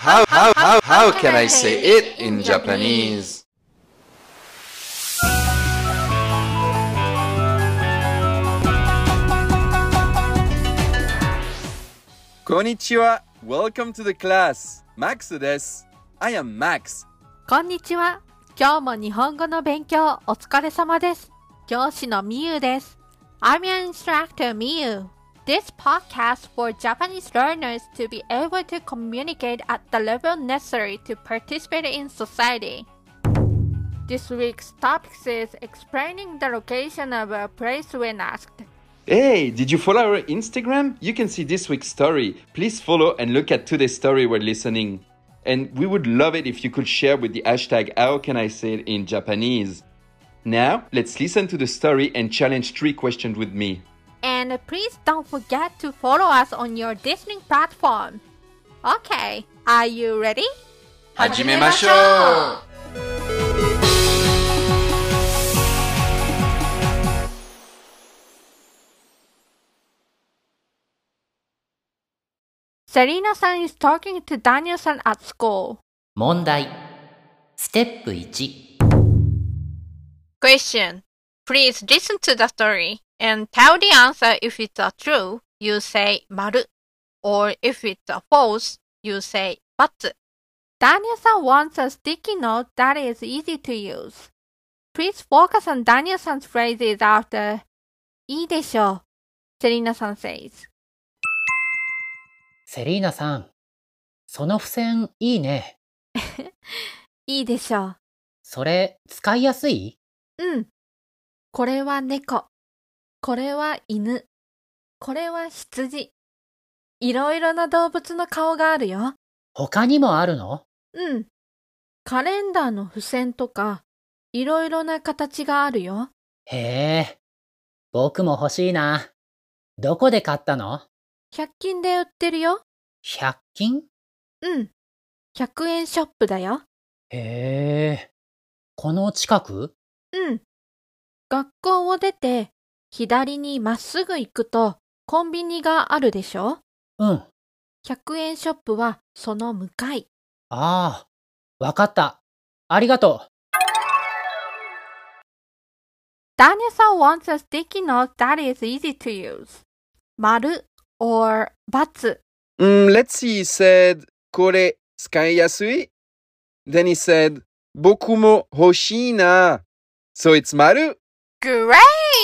How can I say it in Japanese? こんにちは。Welcome to the class. Max です。I am Max. こんにちは。今日も日本語の勉強お疲れ様です。教師のみゆです。I'm your instructor Miyu. This podcast for Japanese learners to be able to communicate at the level necessary to participate in society. This week's topic is explaining the location of a place when asked. Hey, did you follow our Instagram? You can see this week's story. Please follow and look at today's story while listening. And we would love it if you could share with the hashtag How Can I Say It in Japanese. Now, let's listen to the story and challenge 3 questions with me. And please don't forget to follow us on your listening platform. Okay, are you ready? 始めましょう。 Serena-san is talking to Daniel-san at school. 問題。ステップ1。 Question. Please listen to the story and tell the answer. If it's a true, you say 丸 or if it's a false, you say ×. Daniel-san wants a sticky note that is easy to use. Please focus on Daniel-san's phrases after いいでしょう. Serena-san says. セリーナさん、その付箋いいね。 いいでしょう。 それ使いやすい？ うん。これは猫。これは犬。これは羊。いろいろな動物の顔があるよ。 他にもあるの？ うん。カレンダーの付箋とか、いろいろな形があるよ。 へえ、僕も欲しいな。どこで買ったの ？100均で売ってるよ。 100均？ うん。100円ショップだよ。 へえ、この近く？ うん。学校を出て、左にまっすぐ行くと、コンビニがあるでしょ？ うん。 100円ショップはその向かい。 ああ、わかった。ありがとう。 Daniel-san wants a sticky note that is easy to use. 丸 or ×. Let's see, he said, これ使いやすい? Then he said, 僕も欲しいな. So it's 丸. Great!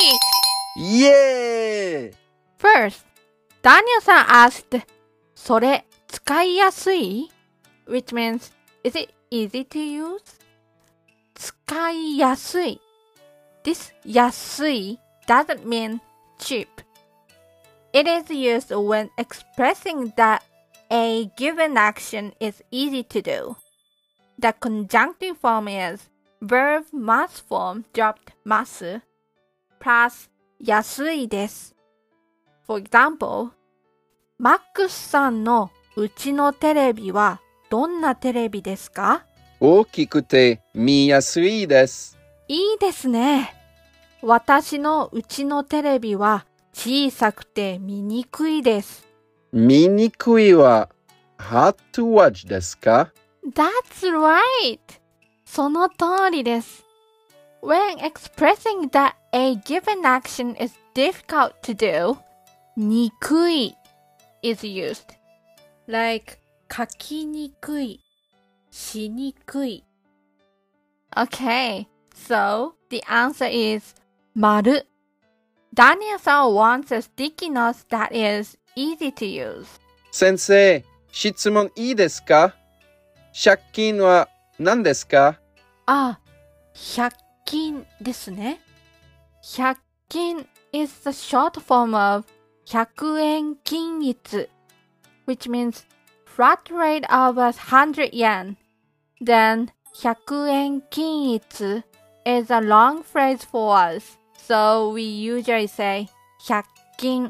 Yeah! First, Daniel-san asked, それ使いやすい? Which means, is it easy to use? 使いやすい. This 安い doesn't mean cheap. It is used when expressing that a given action is easy to do. The conjunctive form is verb mass form dropped ますplus 安いです。For example, マックスさんのうちのテレビはどんなテレビですか？ 大きくて見やすいです。 いいですね。私のうちのテレビは小さくて見にくいです。 見にくいは hard to watch ですか？ That's right! その通りです。When expressing that a given action is difficult to do, にくい is used. Like 書きにくい、しにくい。Okay, so the answer is 丸。Daniel-san wants a sticky note that is easy to use. 先生、質問いいですか？借金は何ですか？ あ、100均ですね。100均 is the short form of 100円均一 which means flat rate of 100 yen. Then 100円均一 is a long phrase for us, so we usually say 100均。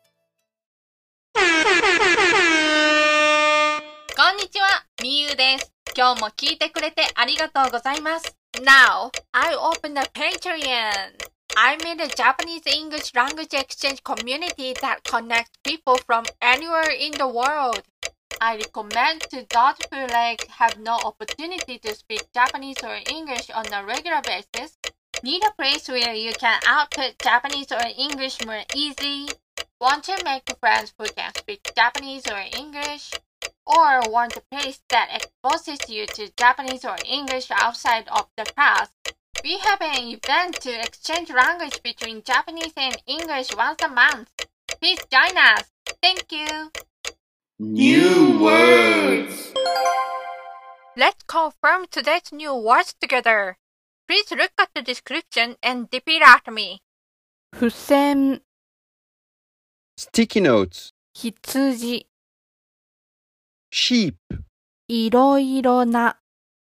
こんにちは、みゆです。今日も聞いてくれてありがとうございます。Now, I open a Patreon. I'm in a Japanese English language exchange community that connects people from anywhere in the world. I recommend to those who have no opportunity to speak Japanese or English on a regular basis, need a place where you can output Japanese or English more easily, want to make friends who can speak Japanese or English, or want a place that exposes you to Japanese or English outside of the class. We have an event to exchange language between Japanese and English once a month. Please join us. Thank you. New words. Let's confirm today's new words together. Please look at the description and repeat after me. 付箋、 Sticky notes. 羊、 Sheep. いろいろな、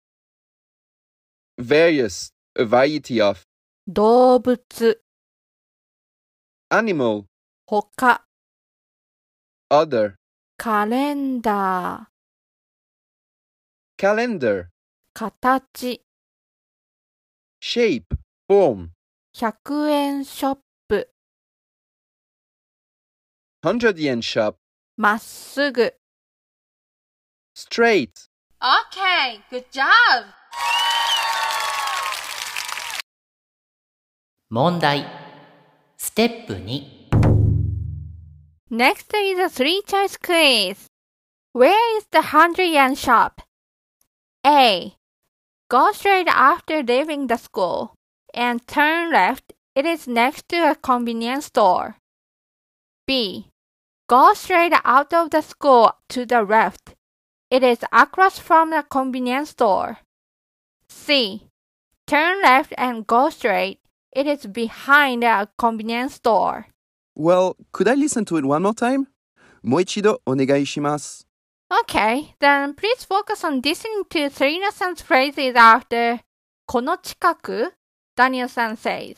Various. A variety of. 動物、 Animal. 他、 Other. カレンダー、 Calendar. 形、 Shape. Form. 100円ショップ、 100-yen shop. まっすぐ。 Straight. Okay, good job! 問題。ステップ2。 Next is a three-choice quiz. Where is the 100-yen shop? A. Go straight after leaving the school and turn left. It is next to a convenience store. B. Go straight out of the school to the left. It is across from the convenience store. C. Turn left and go straight. It is behind a convenience store. Well, could I listen to it one more time? もう一度お願いします。 Okay, then please focus on listening to Serena-san's phrases after この近く Daniel-san says.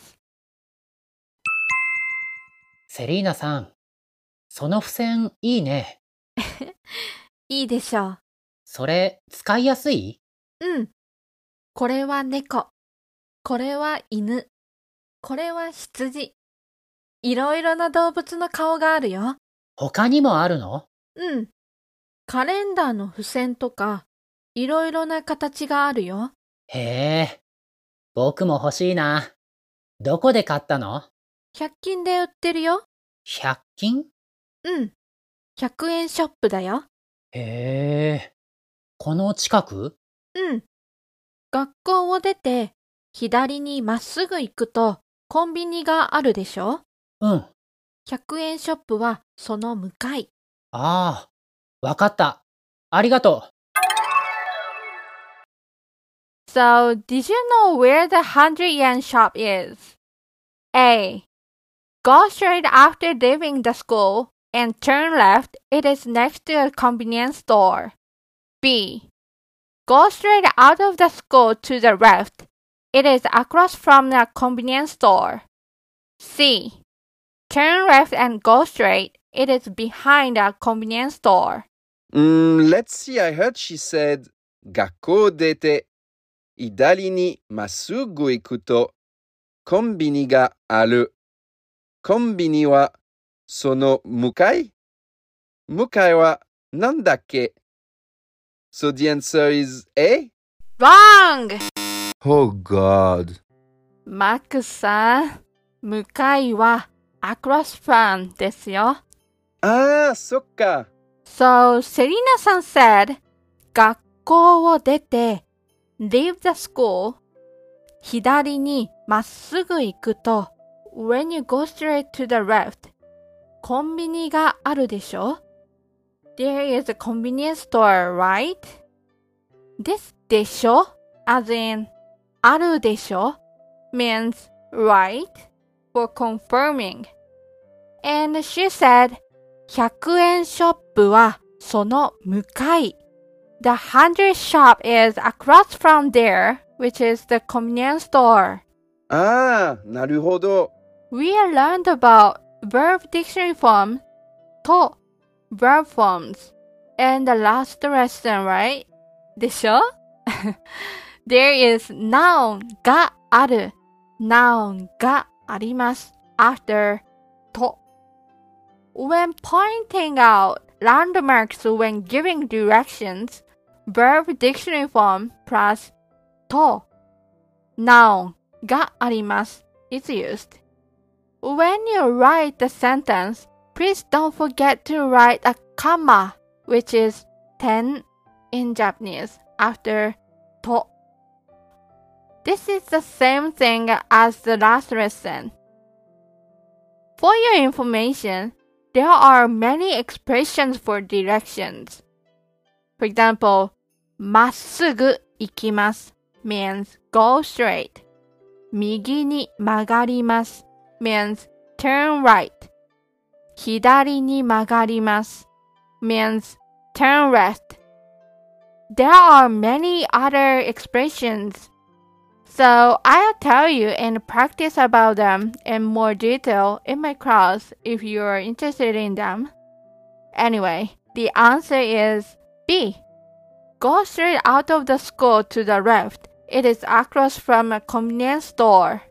セリーナさん、その付箋いいね。 いいでしょそれ使いやすい？ う。これは猫。これは犬。これは羊。いろいろな動物の顔があるよ。 他にもあるの？ カレンダーの付箋とか、いろいろな形があるよ。 へえ、僕も欲しいな。どこで買ったの 100均で売ってるよ。 ？100均？ 100円ショップだよ。 へえ、この近く？ 学校を出て、左にまっすぐ行くと、コンビニがあるでしょ 100 円ショップはその向かい。 ああ、わかった。ありがとう。 So, did you know where the 100-yen shop is? A. Go straight after leaving the school and turn left. It is next to a convenience store. B. Go straight out of the school to the left. It is across from the convenience store. C. Turn left and go straight. It is behind a convenience store. Let's see. I heard she said 学校出て左にまっすぐ行くとコンビニがある。コンビニはその向かい？向かいはなんだっけ？ So the answer is A? Wrong! Oh God. マックスさん、向かいは across from ですよ。 ああ、そっか。 So, Serena-san said, 学校を出て leave the school 左にまっすぐ行くと when you go straight to the left コンビニがあるでしょ There is a convenience store, right? ですでしょ as in あるでしょ means right for confirming. And she said 100円ショップはその向かい。The 100 shop is across from there, which is the convenience store. ああ、なるほど。 We learned about verb dictionary form と verb forms in the last lesson, right? でしょThere is noun がある。noun があります。after と。When pointing out landmarks when giving directions, verb dictionary form plus と noun があります is used. When you write the sentence, please don't forget to write a comma, which is 点 in Japanese, after と. This is the same thing as the last lesson. For your information, there are many expressions for directions. For example, まっすぐ行きます means go straight. 右に曲がります means turn right. 左に曲がります means turn left. There are many other expressions, so I'll tell you and practice about them in more detail in my class if you are interested in them. Anyway, the answer is B. Go straight out of the school to the left. It is across from a convenience store.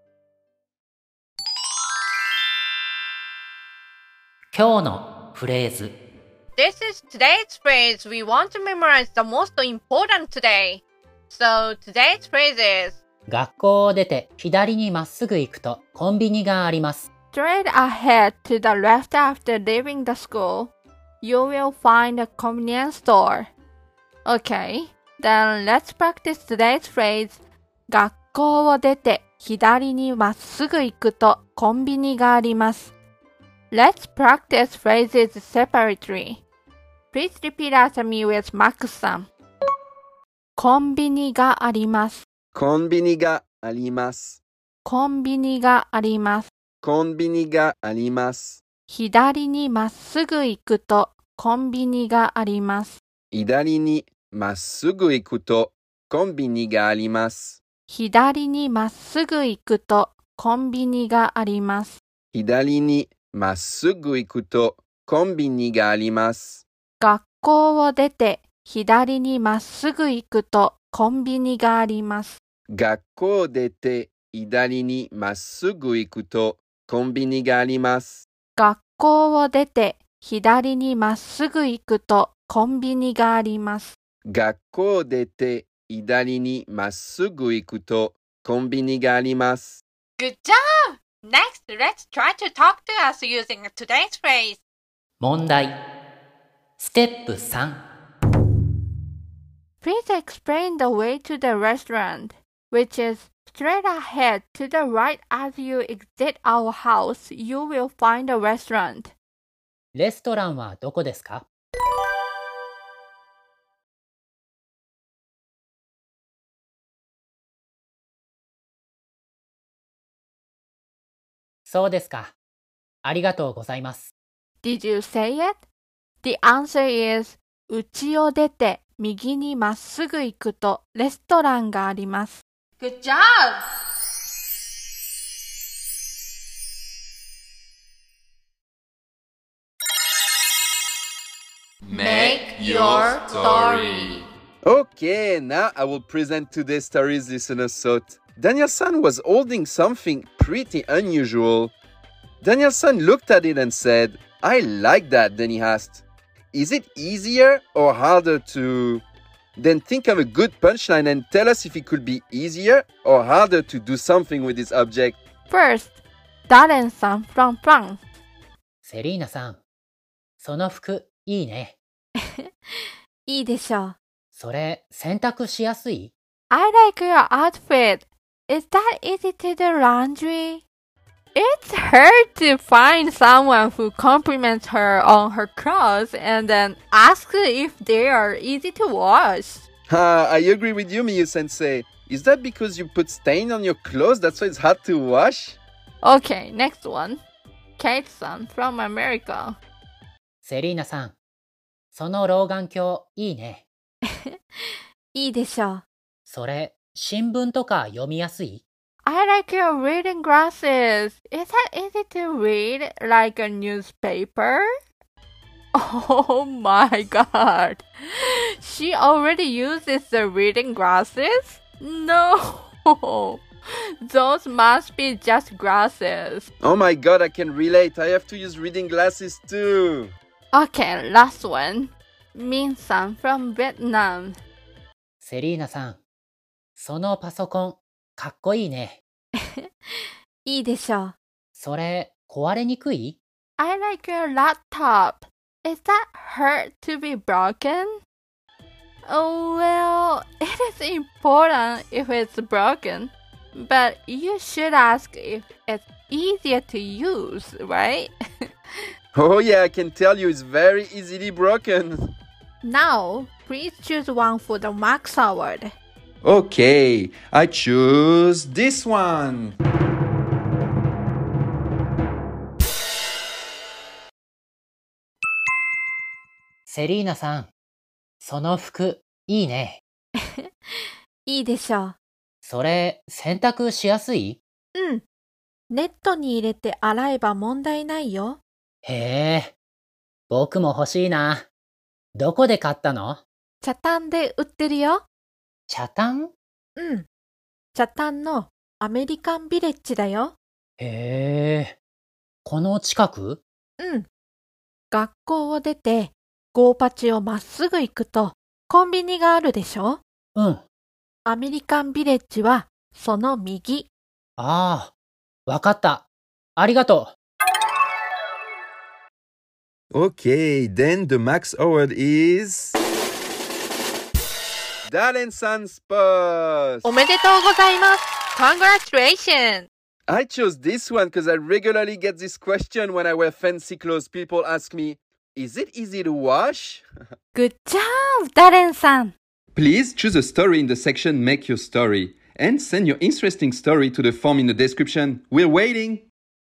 今日のフレーズ。 This is today's phrase. We want to memorize the most important today. So today's phrase is 学校を出て左にまっすぐ行くとコンビニがあります。 straight ahead to the left after leaving the school. You will find a convenience store. Okay, then let's practice today's phrase. 学校を出て左にまっすぐ行くとコンビニがあります。Let's practice phrases separately. Please repeat after me with Max さん。コンビニがあります。 コンビニがあります。 コンビニがあります。 コンビニがあります。 左にまっすぐ行くとコンビニがあります。 左にまっすぐ行くとコンビニがあります。 左にまっすぐ行くとコンビニがあります。 左にまっすぐ行くとコンビニがあります。 学校を出て左にまっすぐ行くとコンビニがあります。 学校を出て左にまっすぐ行くとコンビニがあります。 学校を出て左にまっすぐ行くとコンビニがあります。 学校を出て左にまっすぐ行くとコンビニがあります。 Good job! Next, let's try to talk to us using today's phrase. 問題。ステップ3。 Please explain the way to the restaurant, which is straight ahead to the right as you exit our house. You will find a restaurant. レストランはどこですか？そうですか。ありがとうございます。 Did you say it? The answer is 家を出て右にまっすぐ行くとレストランがあります。Good job! Make your story. Okay, now I will present today's story's listener thought. Daniel-san was holding something pretty unusual. Daniel-san looked at it and said, I like that. Then he asked, is it easier or harder to... Then think of a good punchline and tell us if it could be easier or harder to do something with this object. First, Darren-san from France. セリーナさん、その服いいね。 いいでしょう。 それ洗濯しやすい？ I like your outfit. Is that easy to do laundry? It's hard to find someone who compliments her on her clothes and then asks if they are easy to wash. I agree with you, Miyu-sensei. Is that because you put stain on your clothes? That's why it's hard to wash? Okay, next one. Kate-san from America. セリーナさん、その老眼鏡いいね。 いいでしょう。 それ新聞とか読みやすい？ I like your reading glasses. Is that easy to read like a newspaper? Oh my god. She already uses the reading glasses? No. Those must be just glasses. Oh my god, I can relate. I have to use reading glasses too. Okay, last one. Min-san from Vietnam. セリーナさん、そのパソコン、かっこいいね。 いいでしょう。 それ、壊れにくい？ I like your laptop. Is that hurt to be broken? Oh, well, it is important if it's broken. But you should ask if it's easier to use, right? Oh yeah, I can tell you it's very easily broken. Now, please choose one for the Max Award. Okay, I choose this one. セリーナさん、その服、いいね。 いいでしょう。 それ、洗濯しやすい？ うん。ネットに入れて洗えば問題ないよ。 へえ、僕も欲しいな。どこで買ったの？ 茶炭で売ってるよ。 茶炭？ うん。茶炭のアメリカンビレッジだよ。 へえ、この近く？ うん。学校を出て、ゴーパチをまっすぐ行くと、コンビニがあるでしょ？ うん。 アメリカンビレッジは、その右。 ああ、わかった。ありがとう。Okay, then the Max Award is... Darren-san Sports! おめでとうございます。Congratulations! I chose this one because I regularly get this question when I wear fancy clothes. People ask me, is it easy to wash? Good job, Darren さん。 Please choose a story in the section Make Your Story and send your interesting story to the form in the description. We're waiting!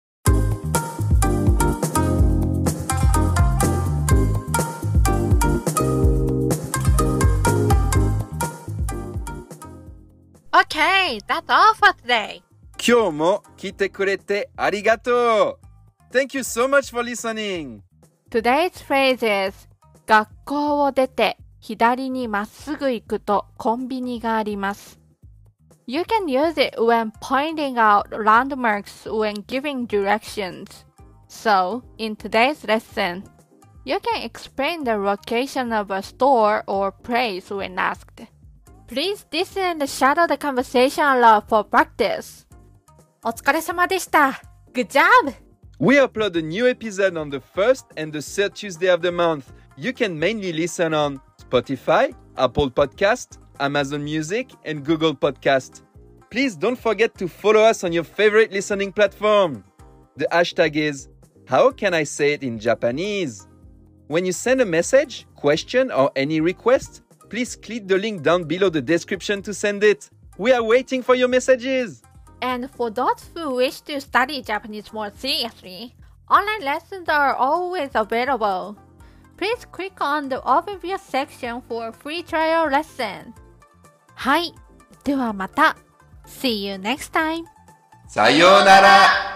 Okay, that's all for today. 今日も来てくれてありがとう! Thank you so much for listening! Today's phrase is 学校を出て左にまっすぐ行くとコンビニがあります。You can use it when pointing out landmarks when giving directions. So, in today's lesson, you can explain the location of a store or place when asked. Please listen and shadow the conversation aloud for practice. お疲れ様でした。Good job! We upload a new episode on the first and the third Tuesday of the month. You can mainly listen on Spotify, Apple Podcast, Amazon Music, and Google Podcast. Please don't forget to follow us on your favorite listening platform. The hashtag is How can I say it in Japanese? When you send a message, question, or any request, please click the link down below the description to send it. We are waiting for your messages. And for those who wish to study Japanese more seriously, online lessons are always available. Please click on the overview section for a free trial lesson. はい、ではまた。See you next time. さようなら